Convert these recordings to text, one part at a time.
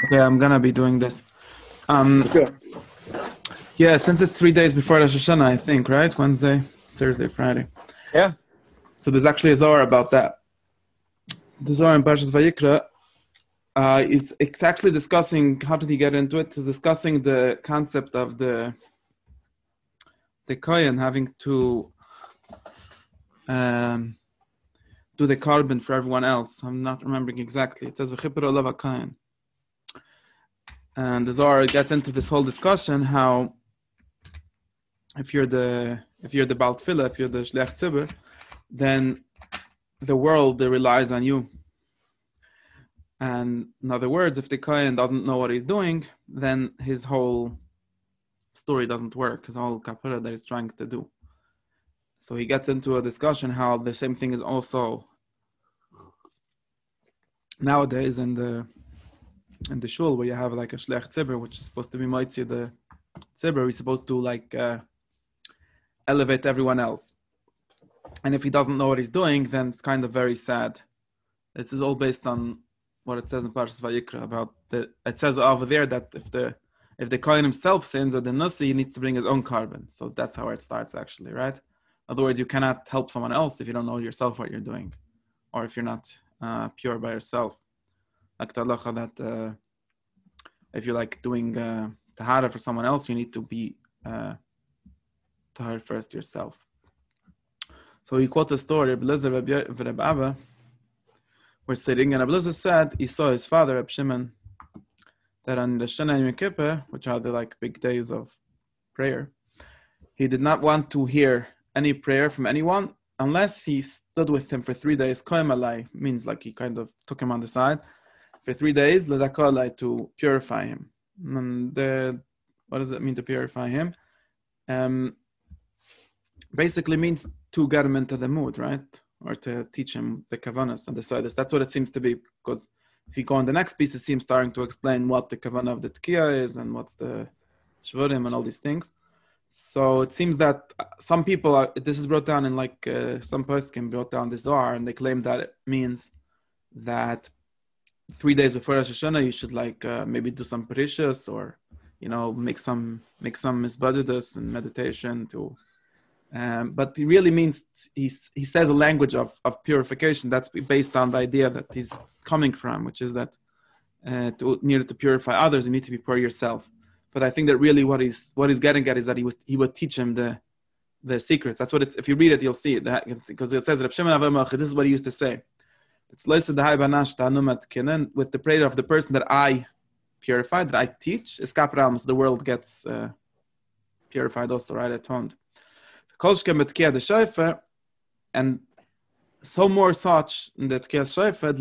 Okay, I'm gonna be doing this. Sure. Yeah, since it's 3 days before Rosh Hashanah, I think, right? Wednesday, Thursday, Friday. Yeah. So there's actually a Zohar about that. The Zohar in Parshas Vayikra, it's actually discussing, how did he get into it? It's discussing the concept of the Kohen having to do the carbon for everyone else. I'm not remembering exactly. It says V'chipur olav HaKohen. And the Zohar gets into this whole discussion how if you're the Baal Tefillah, if you're the Shliach Tzibur, then the world relies on you. And in other words, if the Kohen doesn't know what he's doing, then his whole story doesn't work, his whole kapara that he's trying to do. So he gets into a discussion how the same thing is also nowadays in the shul, where you have like a Shliach Tzibur, which is supposed to be Moitzi the Tzibur, he's supposed to like elevate everyone else. And if he doesn't know what he's doing, then it's kind of very sad. This is all based on what it says in Parshas Vayikra about it says over there that if the Kohen himself sins or the Nasi, he needs to bring his own carbon. So that's how it starts actually, right? In other words, you cannot help someone else if you don't know yourself what you're doing, or if you're not pure by yourself. Like the halacha that if you're like doing tahara for someone else, you need to be tahara first yourself. So he quotes a story, Reb Abba, were sitting, and Reb Eliezer said he saw his father, Reb Shimon, that on the Shana and Yom Kippur, which are the like big days of prayer, he did not want to hear any prayer from anyone unless he stood with him for 3 days. Kohen alai means like he kind of took him on the side for 3 days, ledaka alai, to purify him. And what does it mean to purify him? Basically means to get him into the mood, right? Or to teach him the kavanas and the sidus. That's what it seems to be, because if you go on the next piece, it seems starting to explain what the kavanah of the tkiya is and what's the shvurim and all these things. So it seems that some people, this is brought down in like some poskim brought down the Zohar, and they claim that it means that 3 days before Rosh Hashanah, you should like maybe do some parishas, or make some misbadidus and meditation to. But he really means he says a language of purification that's based on the idea that he's coming from, which is that to purify others, you need to be pure yourself. But I think that really what he's getting at is that he would teach him the secrets. That's what it's. If you read it, you'll see it, because it says Reb Shimon Avamach. This is what he used to say. It's with the prayer of the person that I purify, that I teach. So the world gets purified also, right? Atoned. And so more such in the Tkiyas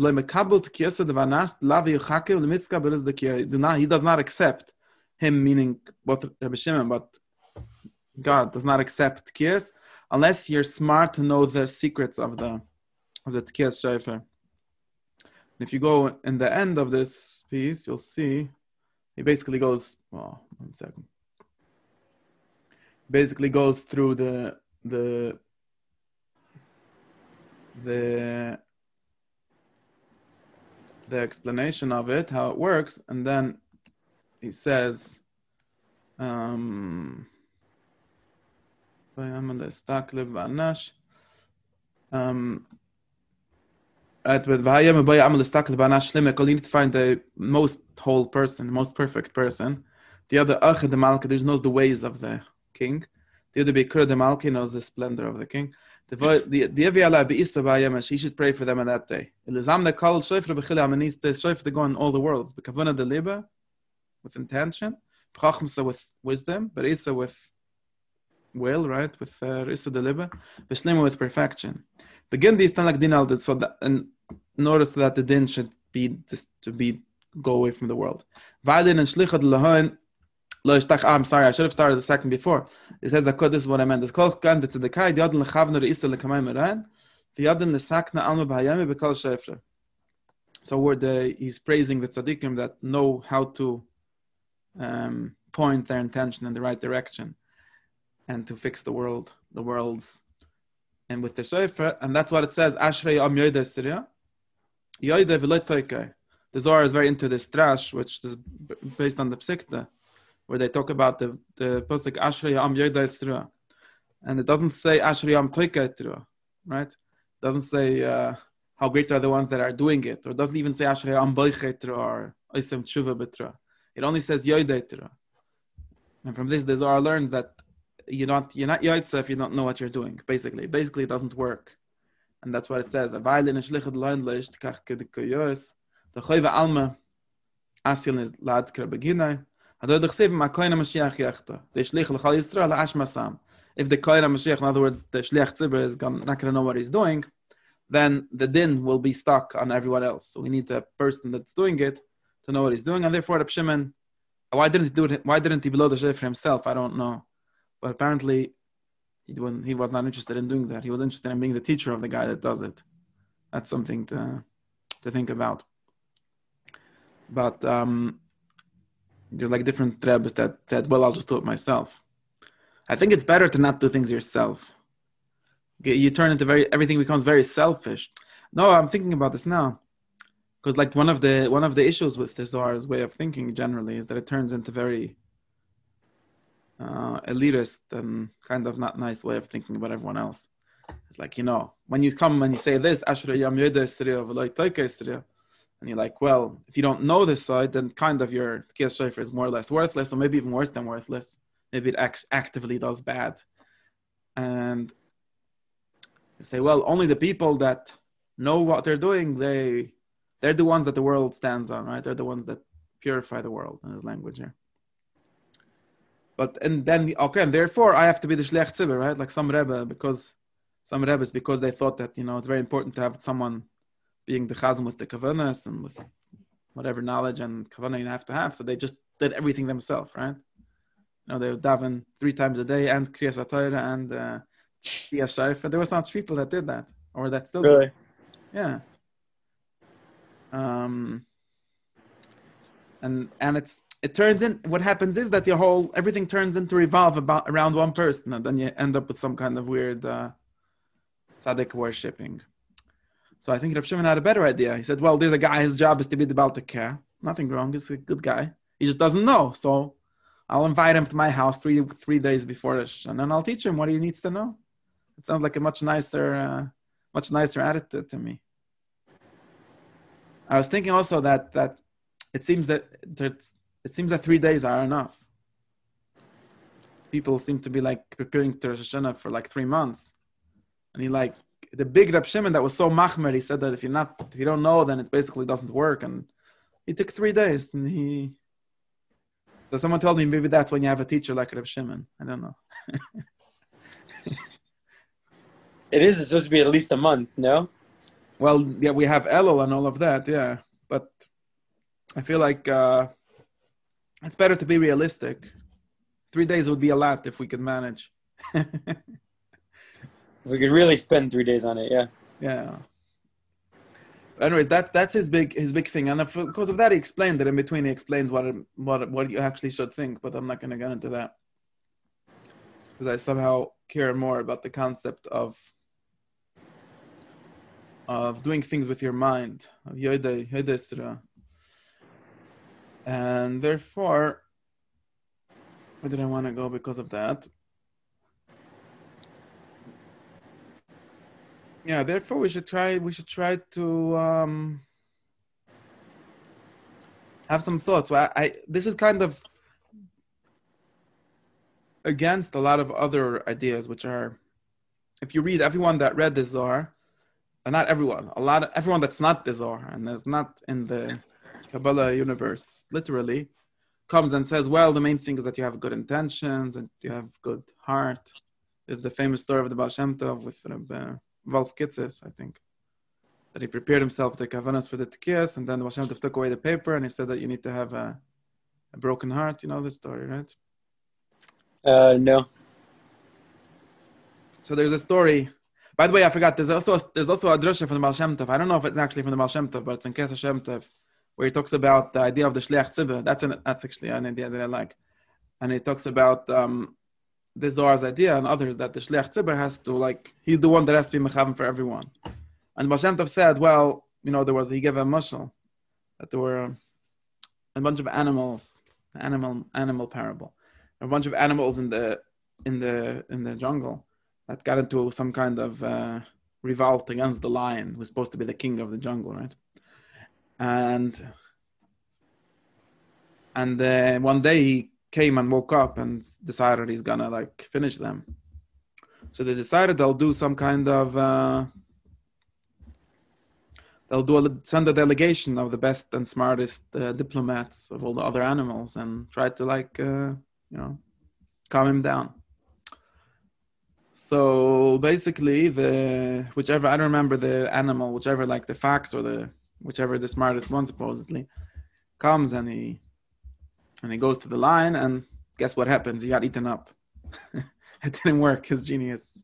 Shayfa, he does not accept him, meaning both Rabbi Shimon, but God does not accept Tkiyas unless you're smart to know the secrets of the Tkiyas Shayfa. If you go in the end of this piece, you'll see he basically goes, well, 1 second. Basically goes through the explanation of it, how it works, and then he says, right, with you need to find the most whole person, most perfect person. The other the Malka knows the ways of the king. The other Bikur the Malki knows the splendor of the king. He should pray for them on that day. He needs to shayf to go in all the worlds. Bekavana the liba, with intention. Chachmsa with wisdom. Berisa with will, right? With Risa the liba. Beshlima with perfection. Begin these like din al, so that, and notice that the din should be go away from the world. Vailin and shlichad lahain. I'm sorry, I should have started the second before. It says, this is what I meant. It's called Kan, it's the Kai, the Yadin Lechavner, the Ista Lekamay Meran, the Yadin Lesakna Alma Bahayami, Bekal Shefra. So he's praising the tzaddikim that know how to point their intention in the right direction and to fix the worlds. And with the Shefra, and that's what it says, Ashrei Am Yoida Syria, Yoida Veloy Toikai. the Zohar is very into this drash, which is based on the Psikta, where they talk about the pasuk Ashrei Yam Yoda Yisra, and it doesn't say Ashrei Yam Toika Yisra, right? It doesn't say how great are the ones that are doing it, or it doesn't even say Ashrei Yam Boiche Yisra or Oisem Tshuva B'Tra. It only says Yoda Yisra. And from this, the Zohar learned that you're not Yoitza if you don't know what you're doing. Basically, it doesn't work, and that's what it says. A violin is lichad lein leist kach kedikoyos. The choyve alma asil is lad krabeginai. Ador dechsev ma koina Mashiach yachta. The shlich lechal Yisrael ashmasam. If the koina Mashiach, in other words, the shlich tzibur is not going to know what he's doing, then the din will be stuck on everyone else. So we need the person that's doing it to know what he's doing, and therefore Reb Shimon, why didn't he do it? Why didn't he blow the shofar himself? I don't know, but apparently he was not interested in doing that. He was interested in being the teacher of the guy that does it. That's something to think about. But there's like different trebbes that said, well, I'll just do it myself. I think it's better to not do things yourself. You turn into everything becomes very selfish. No, I'm thinking about this now. Because like one of the issues with the Zohar's way of thinking generally is that it turns into very elitist and kind of not nice way of thinking about everyone else. It's like, when you come and you say this, Ashrei Yam Yoda Yisra v'lo Toika Yisra, and you're like, well, if you don't know this side, then kind of your Tkiyas Shofar is more or less worthless, or maybe even worse than worthless. Maybe it actively does bad. And you say, well, only the people that know what they're doing, they're the ones that the world stands on, right? They're the ones that purify the world in his language here. And therefore I have to be the Shliach Tzibur, right? Like some Rebbes, because they thought that, it's very important to have someone being the Chazan with the Kavanas and with whatever knowledge and Kavanah you have to have. So they just did everything themselves, right? They would daven 3 times a day and Kriyas HaTorah and Tkiyas Shofar. There were some people that did that, or that still really? do. Yeah. And it turns in, what happens is that everything turns into revolve around one person, and then you end up with some kind of weird tzaddik worshipping. So I think Rav Shimon had a better idea. He said, well, there's a guy, his job is to be the Baal Tekeh. Nothing wrong, he's a good guy. He just doesn't know. So I'll invite him to my house 3 days before Rosh Hashanah, and I'll teach him what he needs to know. It sounds like a much nicer attitude to me. I was thinking also that it seems that 3 days are enough. People seem to be like preparing to Rosh Hashanah for like 3 months, and the big Reb Shimon that was so machmer, he said that if you don't know, then it basically doesn't work, and he took 3 days, and so someone told me maybe that's when you have a teacher like Reb Shimon. I don't know. It's supposed to be at least a month, no? Well, yeah, we have Elul and all of that, yeah. But I feel like it's better to be realistic. 3 days would be a lot if we could manage. If we could really spend 3 days on it, yeah. Yeah. Anyways, that's his big thing, and because of that, he explained that in between. He explained what you actually should think, but I'm not going to get into that because I somehow care more about the concept of doing things with your mind, of Yoda Yisra. And therefore, where did I want to go because of that? Yeah, therefore we should try to have some thoughts. So this is kind of against a lot of other ideas, which are, if you read everyone that read the Zohar, and not everyone, everyone that's not the Zohar and is not in the Kabbalah universe, literally, comes and says, well, the main thing is that you have good intentions and you have good heart. There's the famous story of the Baal Shem Tov with Wolf Kitzes, I think, that he prepared himself the kavanas for the Tkiyas, and then the Baal Shem Tov took away the paper, and he said that you need to have a broken heart. You know this story, right? No. So there's a story. By the way, I forgot. There's also a drasha from the Baal Shem Tov. I don't know if it's actually from the Baal Shem Tov, but it's in Kesef Shem Tov, where he talks about the idea of the Shliach Tzibur. That's actually an idea that I like, and he talks about the Zohar's idea and others that the Shliach Tzibur has to, he's the one that has to be mechavim for everyone. And Baal Shem Tov said, well, he gave a mashal, that there were a bunch of animals, animal parable. There were a bunch of animals in the jungle that got into some kind of revolt against the lion, who's supposed to be the king of the jungle, right? And one day he came and woke up and decided he's gonna like finish them. So they decided they'll do some kind of send a delegation of the best and smartest diplomats of all the other animals and try to like calm him down. So basically, whichever, I don't remember the animal, whichever like the fox or whichever the smartest one supposedly comes and he goes to the lion, and guess what happens? He got eaten up. It didn't work. His genius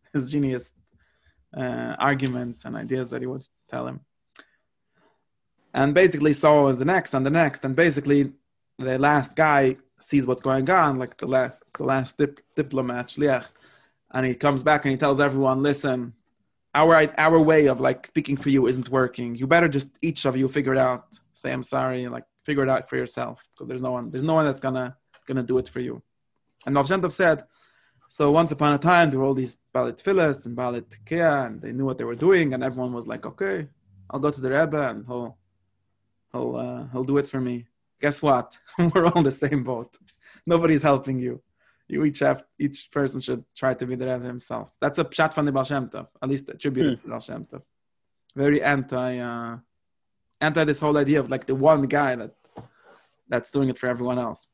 arguments and ideas that he would tell him. And basically, so was the next, and basically, the last guy sees what's going on, like the last diplomat, shliach, and he comes back and he tells everyone, "Listen, our way of like speaking for you isn't working. You better just each of you figure it out. Say I'm sorry, like figure it out for yourself, because there's no one that's gonna do it for you." And Baal Shem Tov said, so once upon a time there were all these Baalei Tfilas and Baalei Tekiah, and they knew what they were doing, and everyone was like, "Okay, I'll go to the Rebbe and he'll do it for me." Guess what? We're all in the same boat. Nobody's helping you. You each person should try to be the Rebbe himself. That's a pshat from the Baal Shem Tov, at least attributed to Baal Shem Tov. Very anti this whole idea of like the one guy that's doing it for everyone else.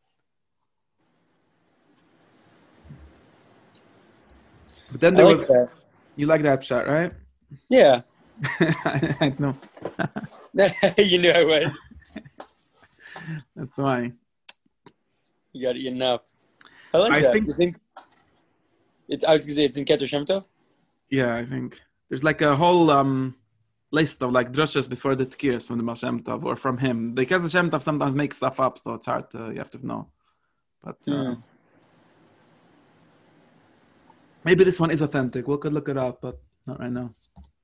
But then you like that pshat, right? Yeah. I know. You knew I would. That's why. You got it enough. I like that. You think I was gonna say it's in Keter Shem Tov? Yeah, I think there's like a whole list of like drushes before the Tkiyas from the Baal Shem Tov or from him. The Keter Shem Tov sometimes makes stuff up, so it's hard to, you have to know. But maybe this one is authentic. We could look it up, but not right now.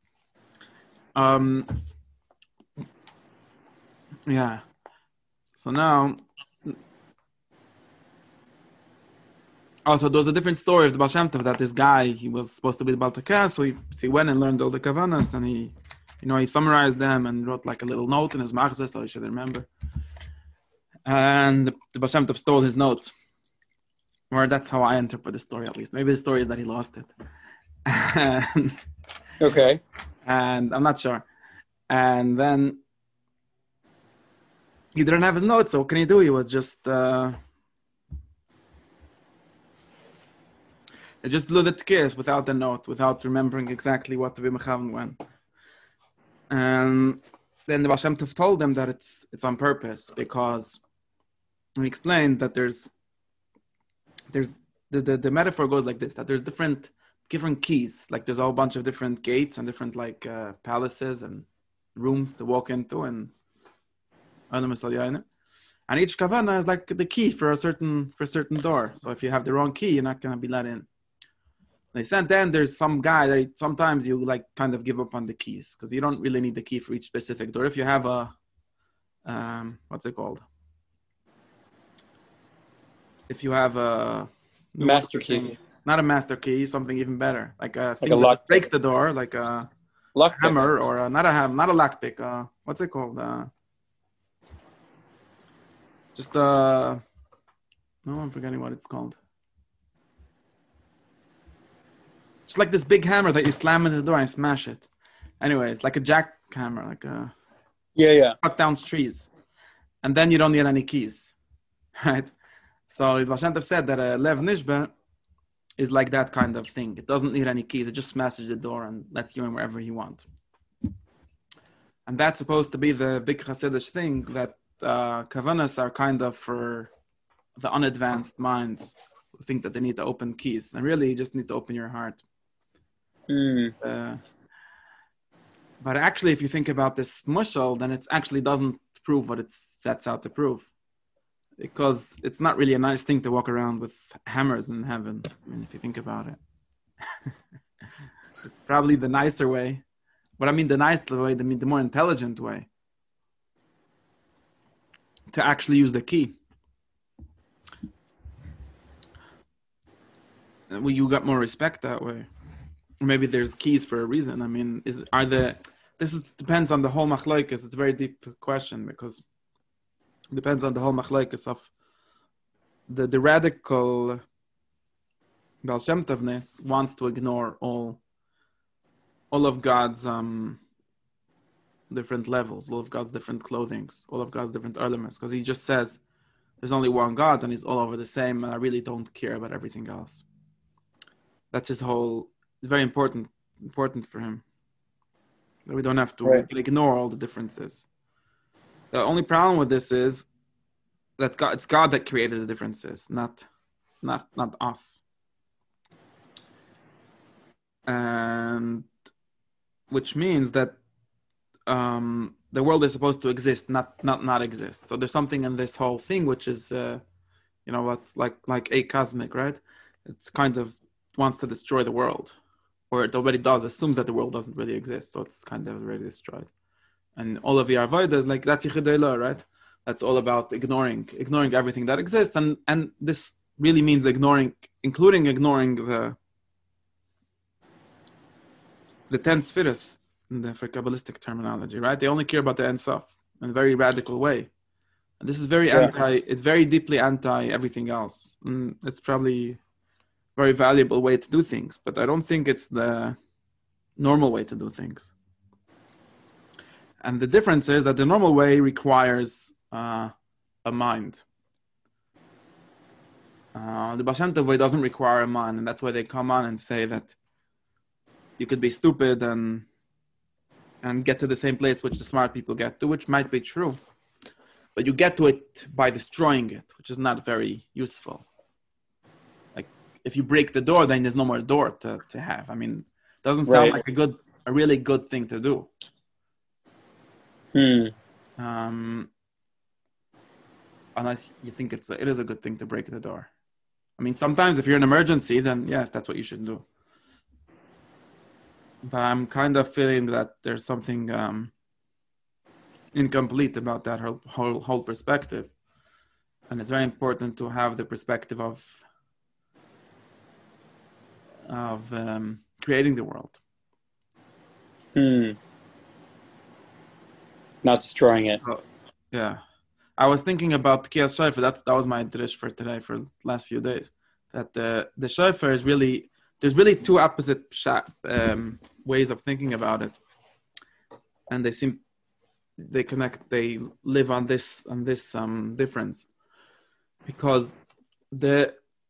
Yeah. So now, also there was a different story of the Baal Shem Tov, that this guy, he was supposed to be the Baal Tekiah, so he went and learned all the Kavanas, and he summarized them and wrote like a little note in his machzor, so he should remember. And the Baal Shem Tov stole his note. Or that's how I interpret the story, at least. Maybe the story is that he lost it. Okay. And I'm not sure. And then he didn't have his notes, so what can he do? He was just he just blew the tkiyas without the note, without remembering exactly what the Bimachavan went. And then the Baal Shem Tov told them that it's on purpose, because he explained that there's the metaphor goes like this, that there's different keys, like there's a whole bunch of different gates and different like palaces and rooms to walk into, and each kavana is like the key for a certain door. So if you have the wrong key, you're not going to be let in. They said then there's some guy that sometimes you like kind of give up on the keys, because you don't really need the key for each specific door. If you have a what's it called? If you have a master key, not a master key, something even better, like a thing like a lock that breaks the door, like a lock hammer, or not a lockpick. What's it called? No, I'm forgetting what it's called. Just like this big hammer that you slam into the door and smash it. Anyway, it's like a jackhammer, like a cut down trees, and then you don't need any keys, right? So Baal Shem Tov said that a Lev Nishba is like that kind of thing. It doesn't need any keys. It just smashes the door and lets you in wherever you want. And that's supposed to be the big Hasidic thing, that Kavanas are kind of for the unadvanced minds who think that they need to open keys. And really, you just need to open your heart. But actually, if you think about this mushal, then it actually doesn't prove what it sets out to prove. Because it's not really a nice thing to walk around with hammers in heaven. I mean, if you think about it. It's probably the nicer way. But I mean the nicer way, the more intelligent way. to actually use the key. Well, you got more respect that way. Maybe there's keys for a reason. I mean, depends on the whole machlokes. It's a very deep question because it depends on the whole machlokes of the radical Baal Shem Tovness wants to ignore all of God's different levels, all of God's different clothings, all of God's different elements, because he just says there's only one God and he's all over the same, and I really don't care about everything else. That's his whole. It's very important for him. We don't have to ignore all the differences. The only problem with this is that it's God that created the differences, not us. And which means that the world is supposed to exist, not exist. So there's something in this whole thing which is, what's like acosmic, right? It's kind of wants to destroy the world, or it already does. Assumes that the world doesn't really exist, so it's kind of already destroyed. And all of the Avodah is like that's Yichud Eloah, right? That's all about ignoring everything that exists, and this really means including ignoring the 10 spheres for Kabbalistic terminology, right? They only care about the Ein Sof in a very radical way. And this is it's very deeply anti everything else. And it's probably a very valuable way to do things, but I don't think it's the normal way to do things. And the difference is that the normal way requires a mind. The Baal Shem Tov way doesn't require a mind, and that's why they come on and say that you could be stupid and get to the same place which the smart people get to, which might be true. But you get to it by destroying it, which is not very useful. Like, if you break the door, then there's no more door to have. I mean, it doesn't sound like a really good thing to do. Unless you think it is a good thing to break the door. I mean, sometimes if you're in an emergency, then yes, that's what you should do. But I'm kind of feeling that there's something incomplete about that whole perspective. And it's very important to have the perspective of creating the world. Not destroying it. Yeah. I was thinking about Tkiyas Shofar. That was my drish for today, for the last few days. That the Shofar is really... There's really two opposite ways of thinking about it, and they connect. They live on this difference, because the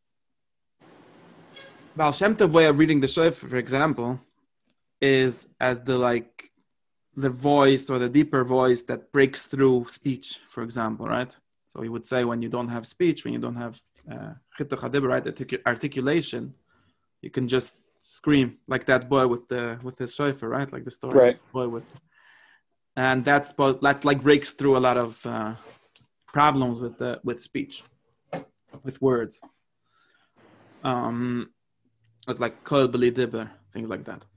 Baal Shem Tov way of reading the Shofar, for example, is as the voice or the deeper voice that breaks through speech, for example, right? So he would say when you don't have speech, when you don't have right, articulation, you can just scream like that boy with his shofar, right? Like the story, right? Boy with, and that's like breaks through a lot of problems with speech, with words. It's like kol b'li diber, things like that.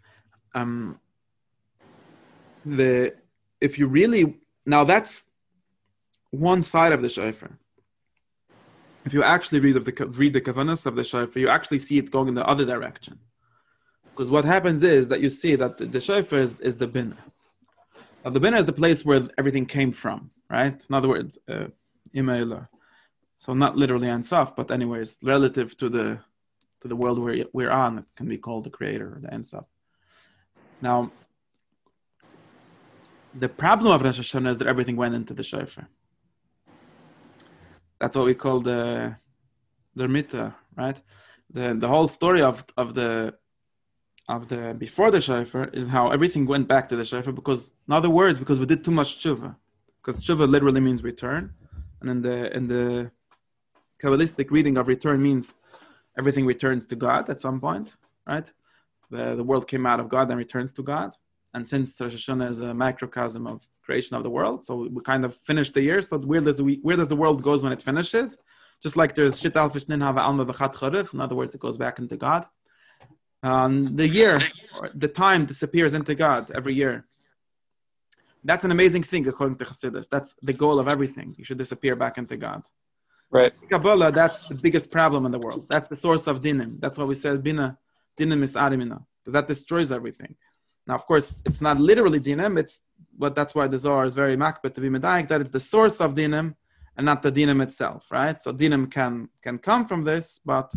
If you really, now that's one side of the shofar. If you actually read the kavanas of the shofar, you actually see it going in the other direction. Because what happens is that you see that the shofar is the binah. Now the binah is the place where everything came from, right? In other words, Ima. So not literally Ein Sof, but anyways, relative to the world we're on, it can be called the creator or the Ein Sof. Now, the problem of Rosh Hashanah is that everything went into the shofar. That's what we call the Mita, right? The whole story of the before the shofar is how everything went back to the shofar, because in other words, because we did too much tshuva. Because tshuva literally means return, and in the Kabbalistic reading of return means everything returns to God at some point, right? The world came out of God and returns to God. And since Rosh Hashanah is a microcosm of creation of the world, so we kind of finished the year. So where does the world goes when it finishes? Just like there's Shit Al Fishnin Hava Alma V'Chat Charif. In other words, it goes back into God. The year, or the time disappears into God every year. That's an amazing thing according to Chassidus. That's the goal of everything. You should disappear back into God. Right. Kabbalah, that's the biggest problem in the world. That's the source of dinim. That's why we said dinim is arimina, because that destroys everything. Now, of course, it's not literally dinim. But that's why the Zohar is very makbet to be medayik, that it's the source of dinim and not the dinim itself, right? So dinim can come from this, but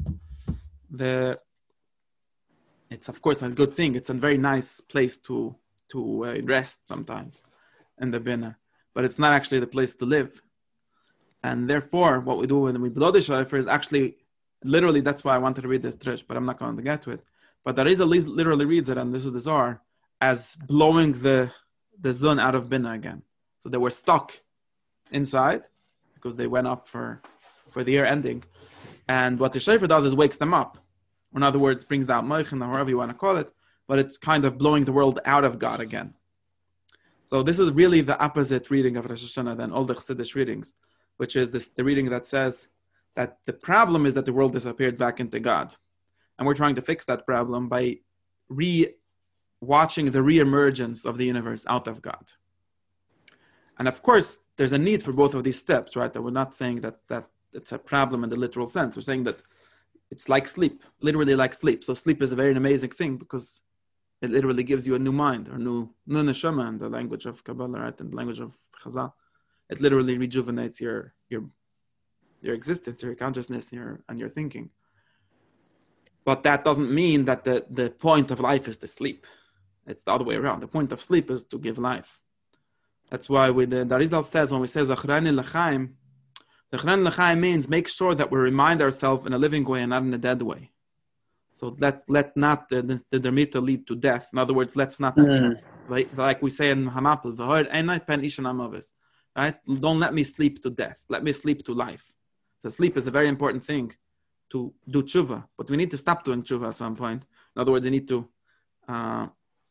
it's of course a good thing. It's a very nice place to rest sometimes in the bina, but it's not actually the place to live. And therefore, what we do when we blow the shofar is actually, literally, that's why I wanted to read this trish, but I'm not going to get to it. But there is at least literally reads it, and this is the Zohar, as blowing the zun out of bina again. So they were stuck inside because they went up for the year ending. And what the shofar does is wakes them up. Or in other words, brings out moichin, or however you want to call it, but it's kind of blowing the world out of God again. So this is really the opposite reading of Rosh Hashanah than all the Chassidish readings, which is the reading that says that the problem is that the world disappeared back into God. And we're trying to fix that problem by watching the reemergence of the universe out of God. And of course, there's a need for both of these steps, right? That we're not saying that it's a problem in the literal sense. We're saying that it's like sleep, literally like sleep. So sleep is a very amazing thing because it literally gives you a new mind, or new neshama in the language of Kabbalah, right? In the language of Chazal. It literally rejuvenates your existence, your consciousness, and your thinking. But that doesn't mean that the point of life is to sleep. It's the other way around. The point of sleep is to give life. That's why the Arizal says, when we say Zachrani L'chaim, Zachrani L'chaim means make sure that we remind ourselves in a living way and not in a dead way. So let not the dermita lead to death. In other words, let's not like we say in Hamapel, right? Don't let me sleep to death. Let me sleep to life. So sleep is a very important thing to do tshuva, but we need to stop doing tshuva at some point. In other words, you need to, and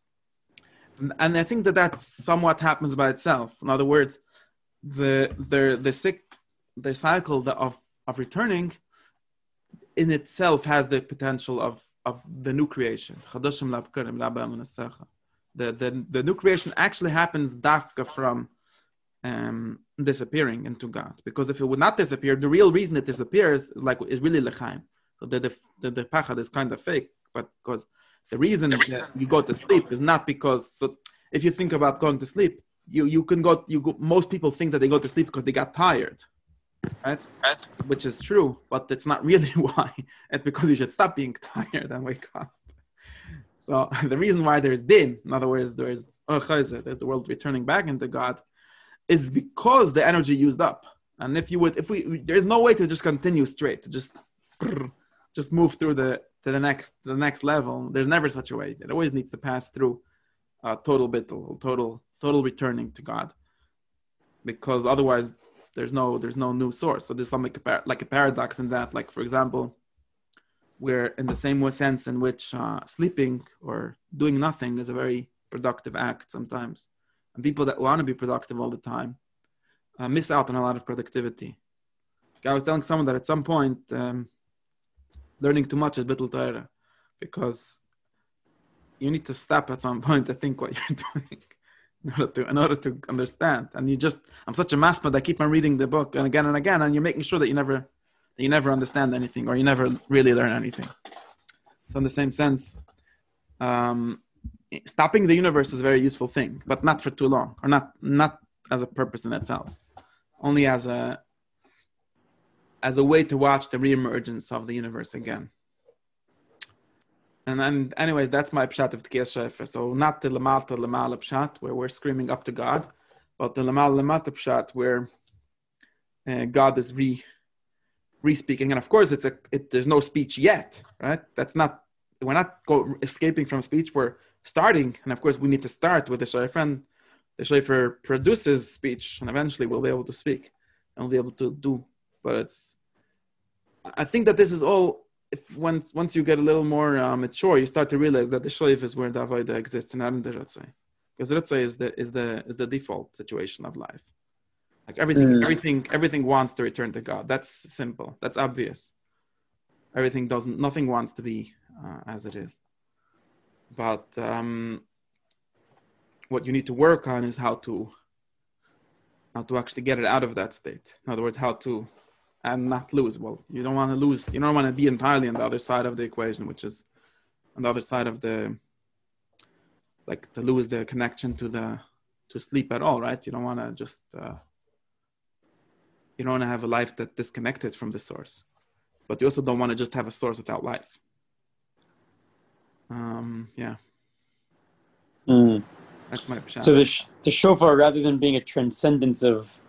I think that somewhat happens by itself. In other words, the cycle of returning in itself has the potential of the new creation. The new creation actually happens dafka from disappearing into God. Because if it would not disappear, the real reason it disappears is really lechaim. So the pachad is kind of fake, but because the reason that you go to sleep is not because. So if you think about going to sleep, you can go. Most people think that they go to sleep because they got tired, right? Which is true, but it's not really why. It's because you should stop being tired and wake up. So the reason why there's din, in other words, there's the world returning back into God, is because the energy used up. And there's no way to just continue straight, to just move through the next level. There's never such a way. It always needs to pass through total bittul, total returning to God, because otherwise there's no new source. So there's something like a paradox in that. Like, for example, we're in the same sense in which sleeping or doing nothing is a very productive act sometimes. And people that want to be productive all the time miss out on a lot of productivity. I was telling someone that at some point, learning too much is bittul Torah, because you need to stop at some point to think what you're doing in order to understand. And I'm such a maspad, I keep on reading the book and again, and you're making sure that you never understand anything, or you never really learn anything. So in the same sense, stopping the universe is a very useful thing, but not for too long, or not as a purpose in itself, only as a way to watch the reemergence of the universe again. And then, anyways, that's my pshat of Tkiyas Shofar. So not the lamata pshat where we're screaming up to God, but the lamata pshat where God is re-speaking. And of course, there's no speech yet, right? We're not escaping from speech. We're starting, and of course, we need to start with the shofar. And the shofar produces speech, and eventually we'll be able to speak and we'll be able to do. But I think that this is all. Once you get a little more mature, you start to realize that the shofar is where the avodah exists, and not in the ritzai, because ritzai is the default situation of life. Like everything wants to return to God. That's simple. That's obvious. Nothing wants to be as it is. But what you need to work on is how to actually get it out of that state. In other words, how to and not lose. Well, you don't want to lose. You don't want to be entirely on the other side of the equation, which is on the other side of the, like, to lose the connection to sleep at all, right? You don't want to just you don't want to have a life that's disconnected from the source, but you also don't want to just have a source without life. Yeah. That's my opinion. So the shofar, rather than being a transcendence of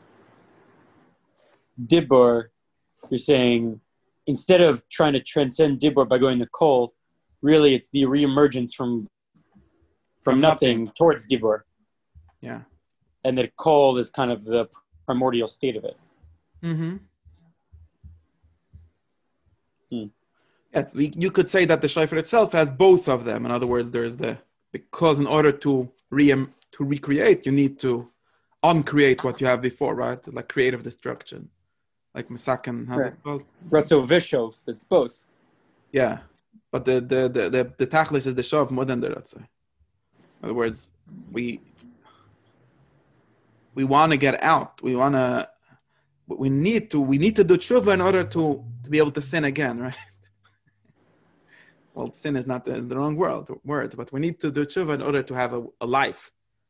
Dibur, you're saying instead of trying to transcend Dibur by going to Kol, really it's the reemergence from nothing towards Dibur. Yeah. And that Kol is kind of the primordial state of it. Yes, you could say that the shofar itself has both of them. In other words, there's because in order to recreate, you need to uncreate what you have before, right? Like creative destruction. Like Masakin, how's it called? Ratzo Vishov, it's both. Yeah. But the Tachlis is the Shov more than the Ratzo. In other words, we want to get out. We need to do tshuva in order to be able to sin again, right? Well, sin is not the wrong word, but we need to do tshuva in order to have a life.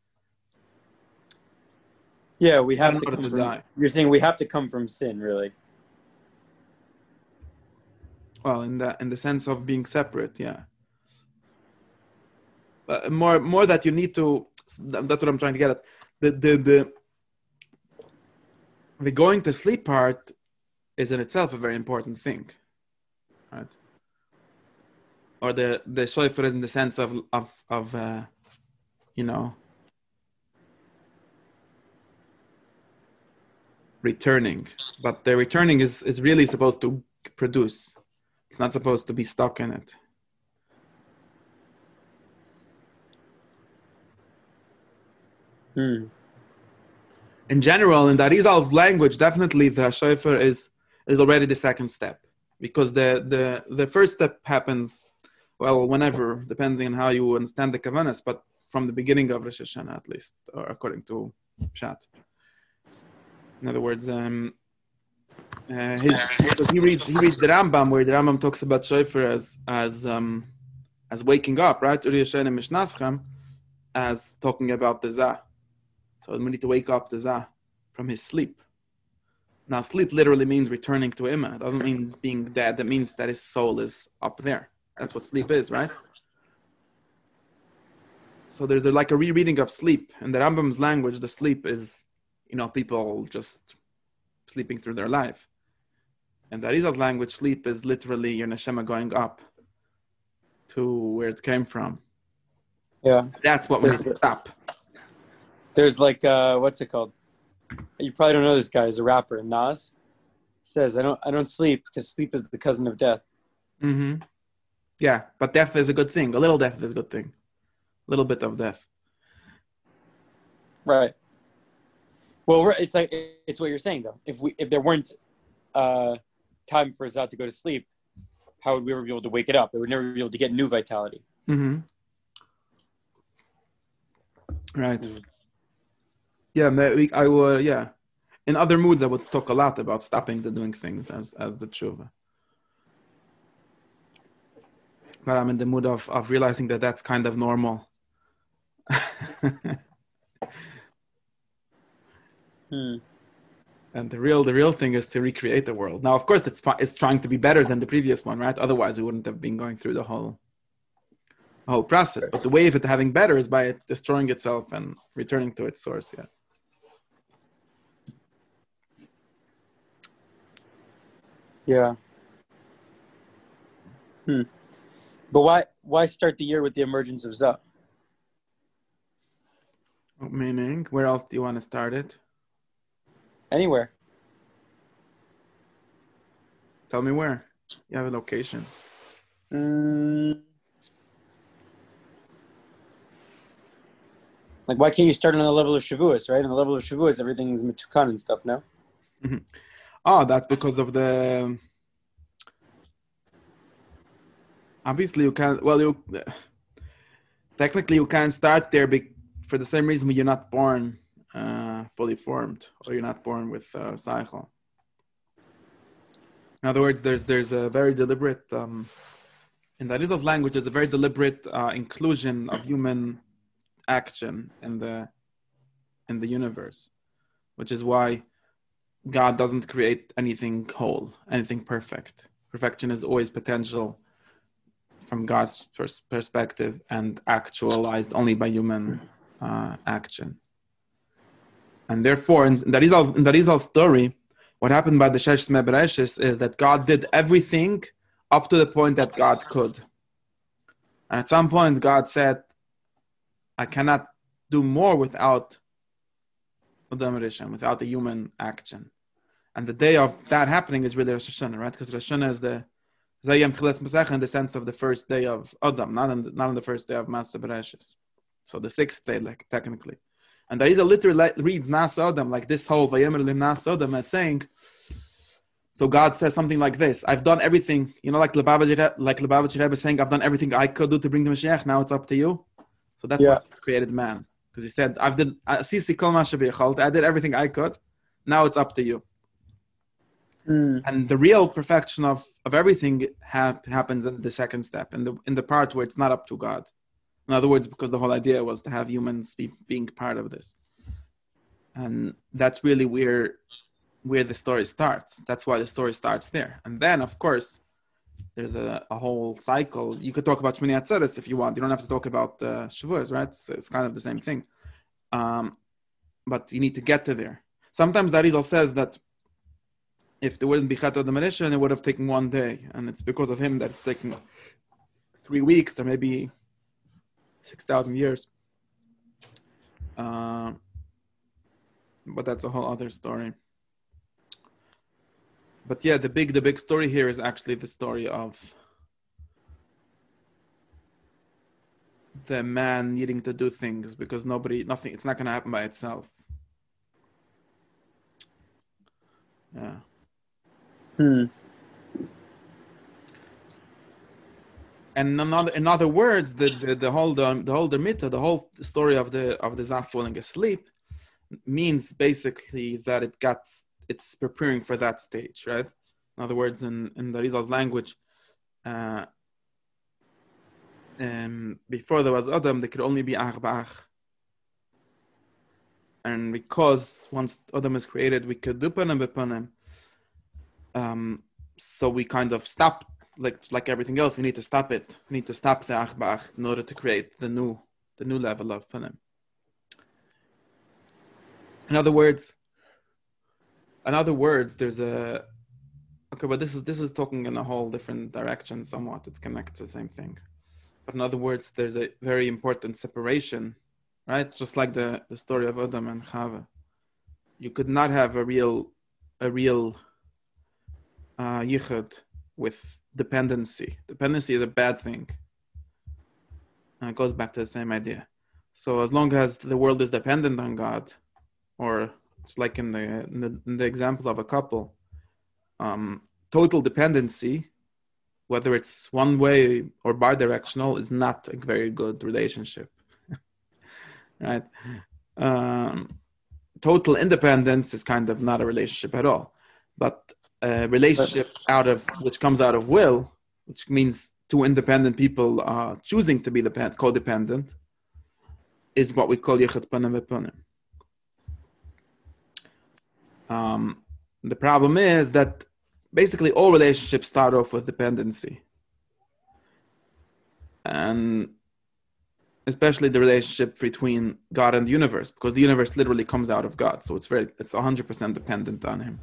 Yeah, we have to come from die. You're saying we have to come from sin, really. Well, in the sense of being separate, yeah. But more that you need to. That's what I'm trying to get at. The going to sleep part is in itself a very important thing, right? Or the shofar is in the sense of returning, but the returning is really supposed to produce. It's not supposed to be stuck in it. In general, in the Arizal's language, definitely the shofar is already the second step, because the first step happens, well, whenever, depending on how you understand the Kavanas, but from the beginning of Rosh Hashanah at least, or according to Pshat. In other words, he reads the Rambam, where the Rambam talks about shofar as waking up, right? As talking about the Zah. So we need to wake up the Zah from his sleep. Now, sleep literally means returning to Ima. It doesn't mean being dead. That means that his soul is up there. That's what sleep is, right? So there's like a rereading of sleep. In the Rambam's language, the sleep is, people just sleeping through their life. And the Arizal's language, sleep is literally your neshama going up to where it came from. Yeah. That's what we need to stop. There's like, what's it called? You probably don't know this guy. He's a rapper. Nas says, I don't sleep because sleep is the cousin of death. Mm-hmm. Yeah, but death is a good thing. A little death is a good thing. A little bit of death. Right. Well, it's what you're saying though. If there weren't time for Zah to go to sleep, how would we ever be able to wake it up? It would never be able to get new vitality. Mm-hmm. Right. Mm-hmm. Yeah, I would. Yeah, in other moods, I would talk a lot about stopping doing things as the tshuva. But I'm in the mood of realizing that that's kind of normal. And the real thing is to recreate the world. Now, of course, it's trying to be better than the previous one, right? Otherwise, we wouldn't have been going through the whole process. But the way of it having better is by it destroying itself and returning to its source. Yeah. Yeah. But why start the year with the emergence of Zah? Meaning, where else do you want to start it? Anywhere. Tell me where. You have a location. Like, why can't you start on the level of Shavuos, right? On the level of Shavuos, everything's Metukan and stuff, no? Mm-hmm. Oh, that's because of the... Obviously, you can't... Well, technically, you can't start there for the same reason you're not born fully formed, or you're not born with Seichel. In other words, there's a very deliberate, in the Arizal's language, there's a very deliberate inclusion of human action in the universe, which is why God doesn't create anything whole, anything perfect. Perfection is always potential from God's perspective and actualized only by human action. And therefore, in the Arizal story, what happened by the Shesh Tzmei Bereshis is that God did everything up to the point that God could. And at some point, God said, I cannot do more without Adam Rishon, without the human action. And the day of that happening is really Rosh Hashanah, right? Because Rosh Hashanah is the Zayim Tchilas Masech in the sense of the first day of Adam, not on the first day of Maaseh Bereshis. So the sixth day, like technically. And there is a literally reads Nas Adam, like this whole Vayemer Lim Nas Adam as saying, so God says something like this, I've done everything, like Lubavitcher Rebbe saying, I've done everything I could do to bring the Mashiach, now it's up to you. So that's what created man. Because he said, I did everything I could, now it's up to you. And the real perfection of everything happens in the second step, in the part where it's not up to God. In other words, because the whole idea was to have humans being part of this. And that's really where the story starts. That's why the story starts there. And then, of course, there's a whole cycle. You could talk about Shmini Atzeres if you want. You don't have to talk about Shavuos, right? It's kind of the same thing. But you need to get to there. Sometimes the Arizal says that if there wouldn't be Chet Adam Rishon, it would have taken 1 day. And it's because of him that it's taken 3 weeks or maybe 6,000 years. But that's a whole other story. But yeah, the big story here is actually the story of the man needing to do things because nothing, it's not going to happen by itself. Yeah. And in other words, the whole Mitzvah, the whole story of the Zaf falling asleep means basically that it's preparing for that stage, right? In other words, in the Arizal's language, before there was Adam, there could only be Ach Ba'ach. And because once Adam is created, we could do Panim B'Panim. So we kind of stopped, like everything else, we need to stop it. We need to stop the Ach Ba'ach in order to create the new level of Panim. In other words, there's but this is talking in a whole different direction somewhat. It's connected to the same thing. But in other words, there's a very important separation, right? Just like the story of Adam and Chava. You could not have a real yichud with dependency. Dependency is a bad thing. And it goes back to the same idea. So as long as the world is dependent on God, or it's like in the example of a couple, total dependency, whether it's one way or bidirectional, is not a very good relationship, right? Total independence is kind of not a relationship at all, but a relationship which comes out of will, which means two independent people choosing to be codependent, is what we call Yichud Panim V'Panim. The problem is that basically all relationships start off with dependency, and especially the relationship between God and the universe, because the universe literally comes out of God, so it's 100% dependent on Him.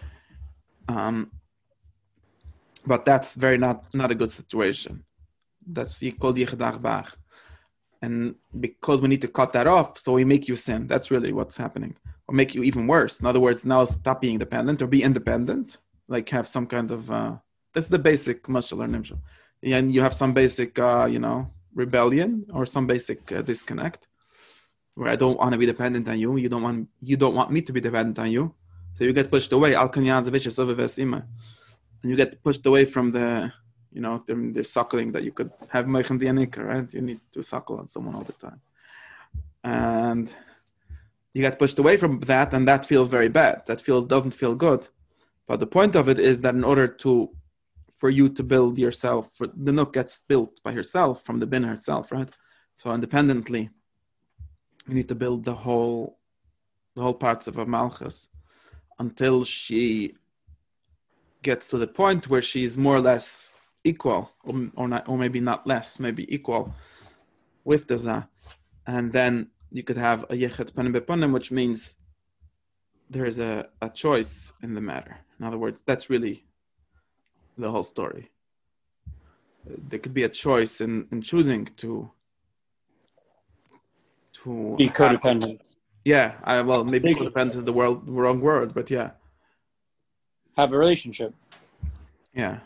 But that's very not a good situation. That's called Yichud Ach Ba'ach. And because we need to cut that off, so we make you sin. That's really what's happening. Or make you even worse. In other words, now stop being dependent or be independent. Like have some kind of, that's the basic mashal or nimshal. And you have some basic, rebellion or some basic disconnect where I don't want to be dependent on you. You don't want me to be dependent on you. So you get pushed away. And you get pushed away from the suckling that you could have Meichem Dianika, right? You need to suckle on someone all the time. and you get pushed away from that, and that feels very bad. That doesn't feel good. But the point of it is that in order for you to build yourself, for the Nook gets built by herself from the Binah itself, right? So independently, you need to build the whole parts of a Malchus until she gets to the point where she's more or less equal, or maybe not less, maybe equal with the Zah. And then you could have a Yechet Panim Bepanim, which means there is a choice in the matter. In other words, that's really the whole story. There could be a choice in choosing to be codependent. Maybe codependent is the wrong word, but yeah. Have a relationship. Yeah.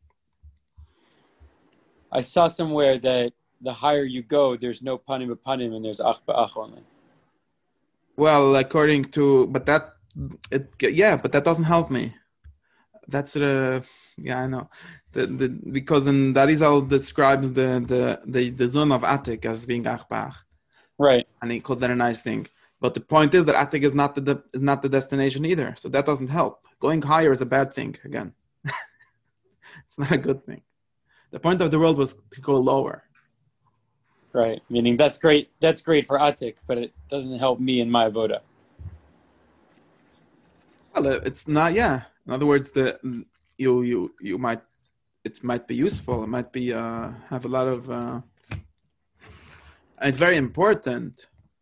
I saw somewhere that the higher you go, there's no panim b'panim and there's ach b'ach only. Well, but that doesn't help me. That's I know. Because in Darizal describes the zone of Atik as being ach b'ach. Right. And he calls that a nice thing. But the point is that Atik is not the destination either. So that doesn't help. Going higher is a bad thing again. It's not a good thing. The point of the world was to go lower. Right. Meaning that's great. That's great for Atik, but it doesn't help me in my avoda. Well, it's not. Yeah. In other words, it might be useful. It might be have a lot of. It's very important.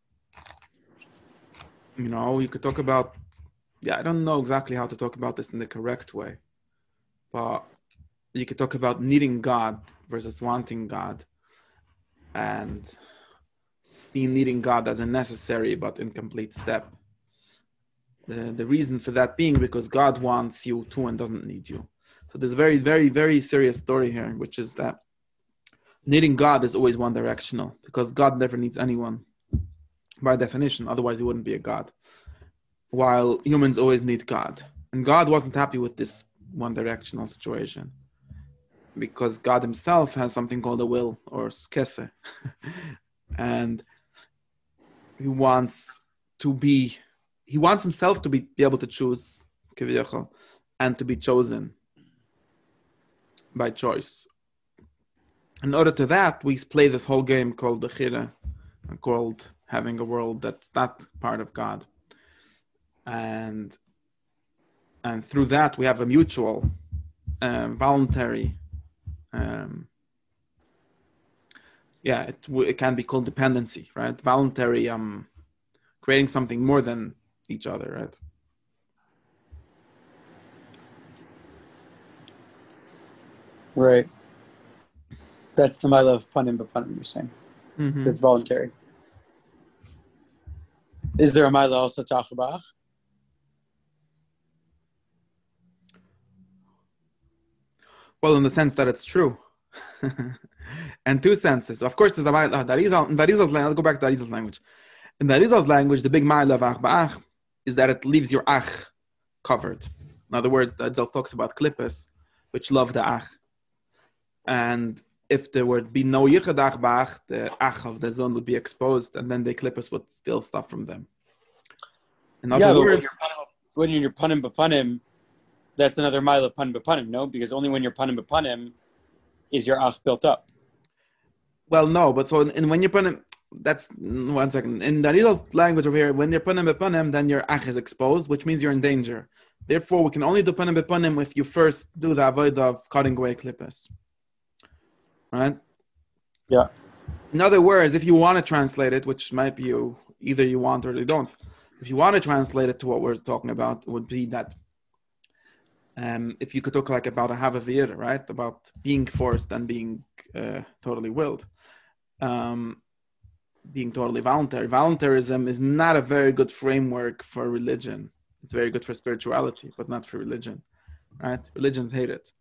You could talk about. Yeah, I don't know exactly how to talk about this in the correct way, but you could talk about needing God versus wanting God, and see needing God as a necessary but incomplete step. The reason for that being because God wants you too and doesn't need you. So there's a very, very, very serious story here, which is that needing God is always one directional because God never needs anyone by definition. Otherwise, he wouldn't be a God. While humans always need God. And God wasn't happy with this one directional situation because God himself has something called a will or skese. And he wants himself to be able to choose and to be chosen by choice. In order to that, we play this whole game called the Chira, called having a world that's not part of God. And through that, we have a mutual, voluntary, it can be called dependency, right? Voluntary, creating something more than each other, right? Right. That's the mila of panim b'panim, you're saying. Mm-hmm. It's voluntary. Is there a mila also to ach b'ach? Well, in the sense that it's true. And two senses. Of course, there's a mila. I'll go back to Darizal's language. In Darizal's language, the big mila of ach b'ach is that it leaves your ach covered. In other words, Darizal talks about klippos, which love the ach. And if there would be no yichud ach b'ach, the ach of the zon would be exposed, and then the klippos would steal stuff from them. In other words, when you're panim b'panim, that's another mile of panim b'panim, no? Because only when you're panim b'panim is your ach built up. Well, no, but so when you're panim, that's 1 second. In Darizal's language over here, when you're panim b'panim, then your ach is exposed, which means you're in danger. Therefore, we can only do panim b'panim if you first do the avodah of cutting away klippos. Right? Yeah. In other words, if you want to translate it, which might be either you want or you don't, if you want to translate it to what we're talking about, it would be that if you could talk like about a havavir, right? About being forced and being totally willed, being totally voluntary. Voluntarism is not a very good framework for religion. It's very good for spirituality, but not for religion, right? Religions hate it.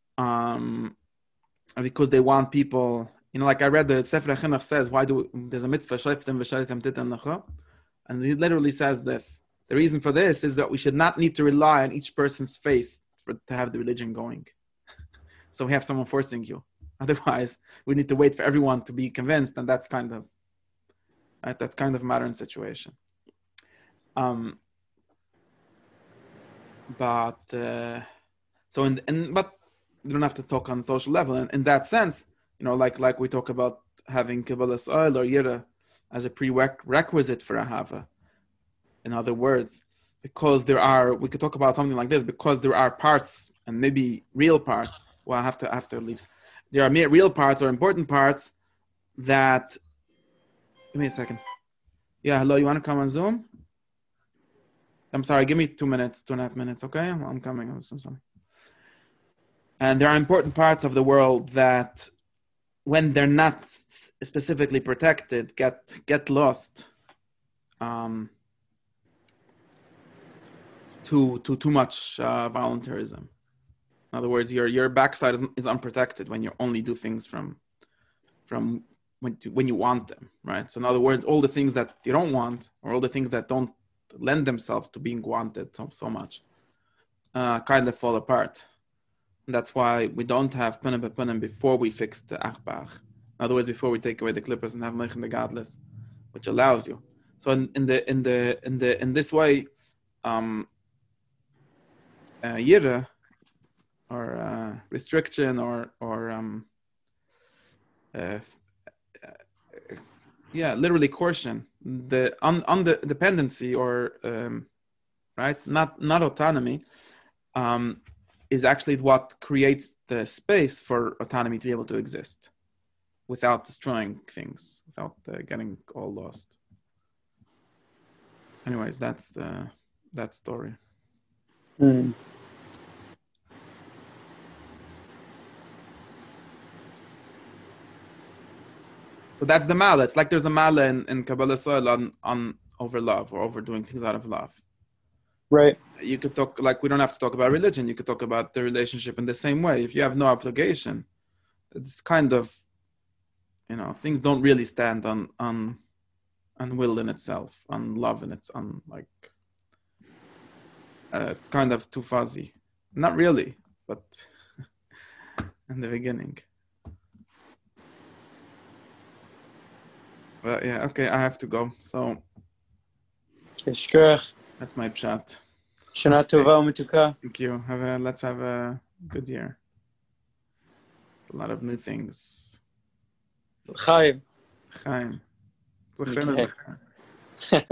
Because they want people, like I read the Sefer HaChinuch says, there's a mitzvah, shleiftem v'shalitem titan lecha, and he literally says this. The reason for this is that we should not need to rely on each person's faith to have the religion going. So we have someone forcing you. Otherwise, we need to wait for everyone to be convinced, and that's kind of right? That's kind of modern situation. But you don't have to talk on social level. And in that sense, like we talk about having Kabbalah's oil or Yira as a prerequisite for Ahava. In other words, because we could talk about something like this, because there are parts and maybe real parts. Well, I have to leave. There are real parts or important parts that. Give me a second. Yeah, hello. You want to come on Zoom? I'm sorry. Give me 2 minutes, 2.5 minutes. Okay, I'm coming. I'm so sorry. And there are important parts of the world that, when they're not specifically protected, get lost. Too much voluntarism. In other words, your backside is unprotected when you only do things from when you want them, right? So in other words, all the things that you don't want, or all the things that don't lend themselves to being wanted so much, kind of fall apart. And that's why we don't have punim bepunim before we fix the achbach. In other words, before we take away the clippers and have meichen the godless, which allows you. So in this way, yira, or restriction, or literally caution, on the dependency, or right, not autonomy, is actually what creates the space for autonomy to be able to exist without destroying things, without getting all lost. Anyways, that's that story. So that's the mala. It's like there's a mala in Kabbalah soil on over love, or overdoing things out of love. Right. You could talk, like, we don't have to talk about religion. You could talk about the relationship in the same way. If you have no obligation, it's kind of, things don't really stand on will in itself, on love in its, on like, it's kind of too fuzzy. Not really, but in the beginning. But yeah, okay, I have to go. So that's my pshat. Shana tova u'metuka. Thank you. Let's have a good year. A lot of new things. Chaim. Chaim.